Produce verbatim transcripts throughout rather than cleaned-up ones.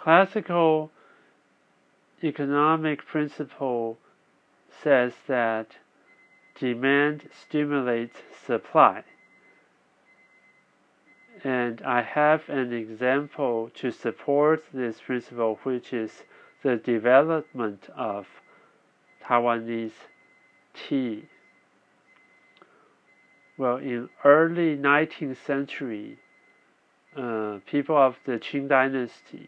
classical economic principle says that demand stimulates supply. And I have an example to support this principle, which is the development of Taiwanese tea. Well, in early nineteenth century, uh, people of the Qing dynasty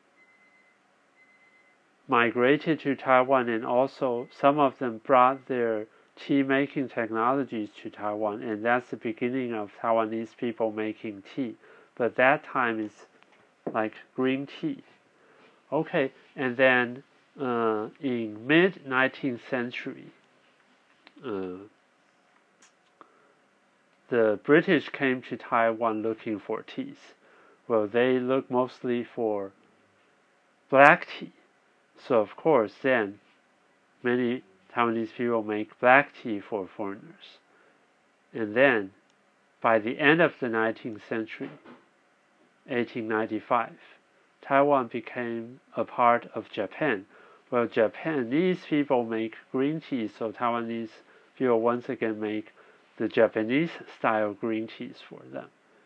migrated to Taiwan, and also some of them brought their tea making technologies to Taiwan, and that's the beginning of Taiwanese people making tea. But that time is like green tea. Okay, and then uh, in mid nineteenth century, uh, the British came to Taiwan looking for teas. Well, they look mostly for black tea. So of course, then many Taiwanese people make black tea for foreigners. And then, by the end of the nineteenth century, eighteen ninety-five, Taiwan became a part of Japan. Well, Japanese people make green tea, so Taiwanese people once again make the Japanese style green teas for them.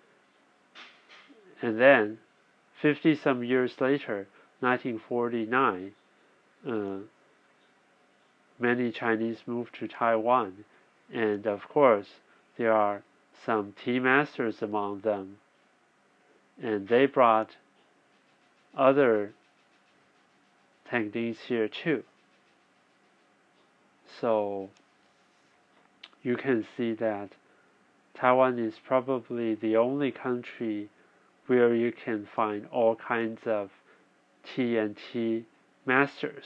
And then, fifty some years later, nineteen forty-nine, uh, many Chinese moved to Taiwan, and of course, there are some tea masters among them, and they brought other techniques here too. So you can see that Taiwan is probably the only country where you can find all kinds of tea and tea masters.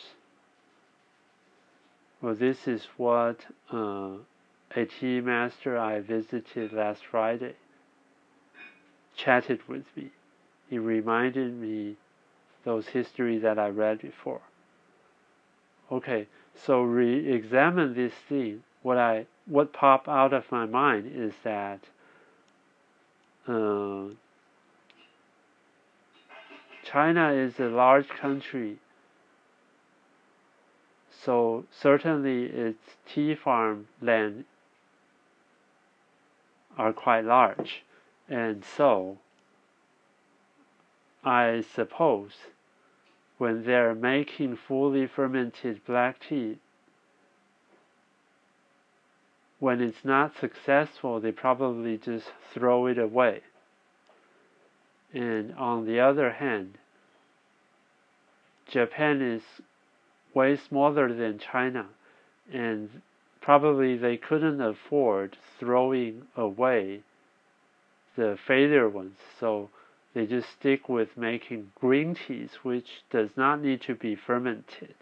Well, this is what uh, a tea master I visited last Friday chatted with me. He reminded me those histories that I read before. Okay, so re-examine this thing. What I what popped out of my mind is that uh, China is a large country, so certainly its tea farm land are quite large, and so I suppose when they're making fully fermented black tea, when it's not successful, they probably just throw it away. And on the other hand, Japan is way smaller than China, and probably they couldn't afford throwing away the failure ones, so they just stick with making green teas, which does not need to be fermented.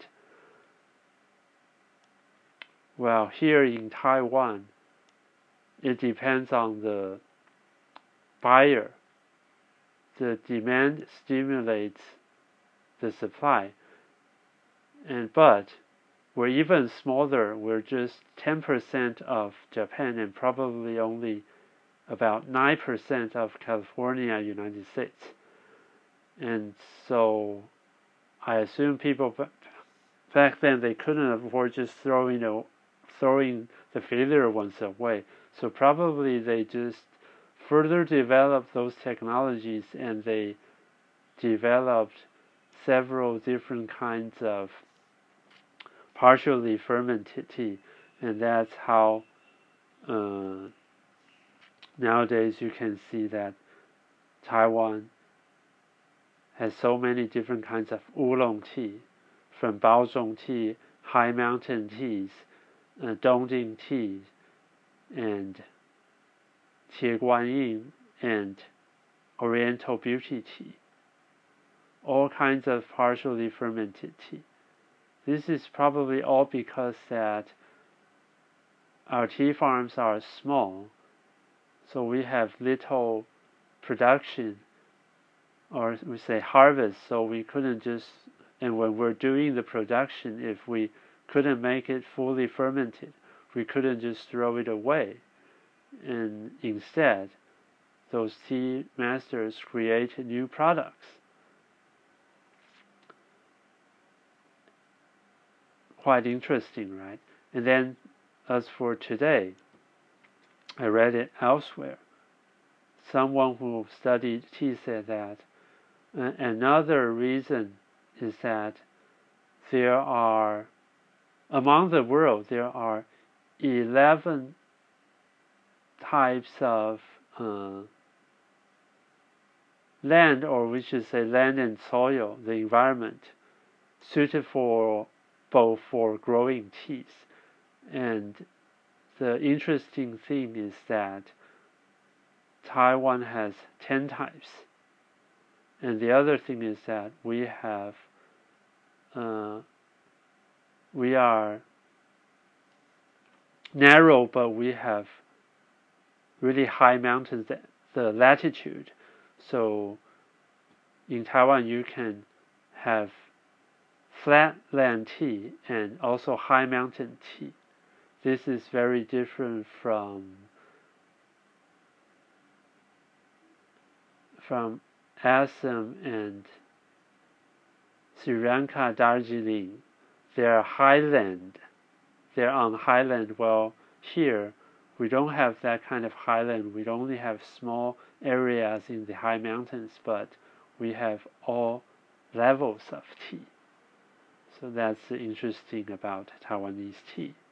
Well, here in Taiwan, it depends on the buyer. The demand stimulates the supply. And but we're even smaller. We're just ten percent of Japan and probably only about nine percent of California, United States. And so I assume people back then, they couldn't afford just throwing, a, throwing the failure ones away. So probably they just further developed those technologies, and they developed several different kinds of partially fermented tea. And that's how uh, nowadays you can see that Taiwan has so many different kinds of oolong tea, from Baozhong tea, high mountain teas, uh, Dongjing tea, and Qieguanyin, and Oriental Beauty tea. All kinds of partially fermented tea. This is probably all because that our tea farms are small, so we have little production, or we say harvest, so we couldn't just, and when we're doing the production, if we couldn't make it fully fermented, we couldn't just throw it away. And instead, those tea masters create new products. quite interesting, right? And then as for today, I read it elsewhere. Someone who studied tea said that uh, another reason is that there are, among the world, there are eleven types of uh, land, or we should say land and soil, the environment, suited for both for growing teas. And the interesting thing is that Taiwan has ten types. And the other thing is that we have, uh, we are narrow, but we have really high mountains, the latitude. So in Taiwan, you can have flatland tea and also high mountain tea. This is very different from from Assam and Sri Lanka, Darjeeling. They are highland. They're on highland. Well, here we don't have that kind of highland. We only have small areas in the high mountains, but we have all levels of tea. So that's interesting about Taiwanese tea.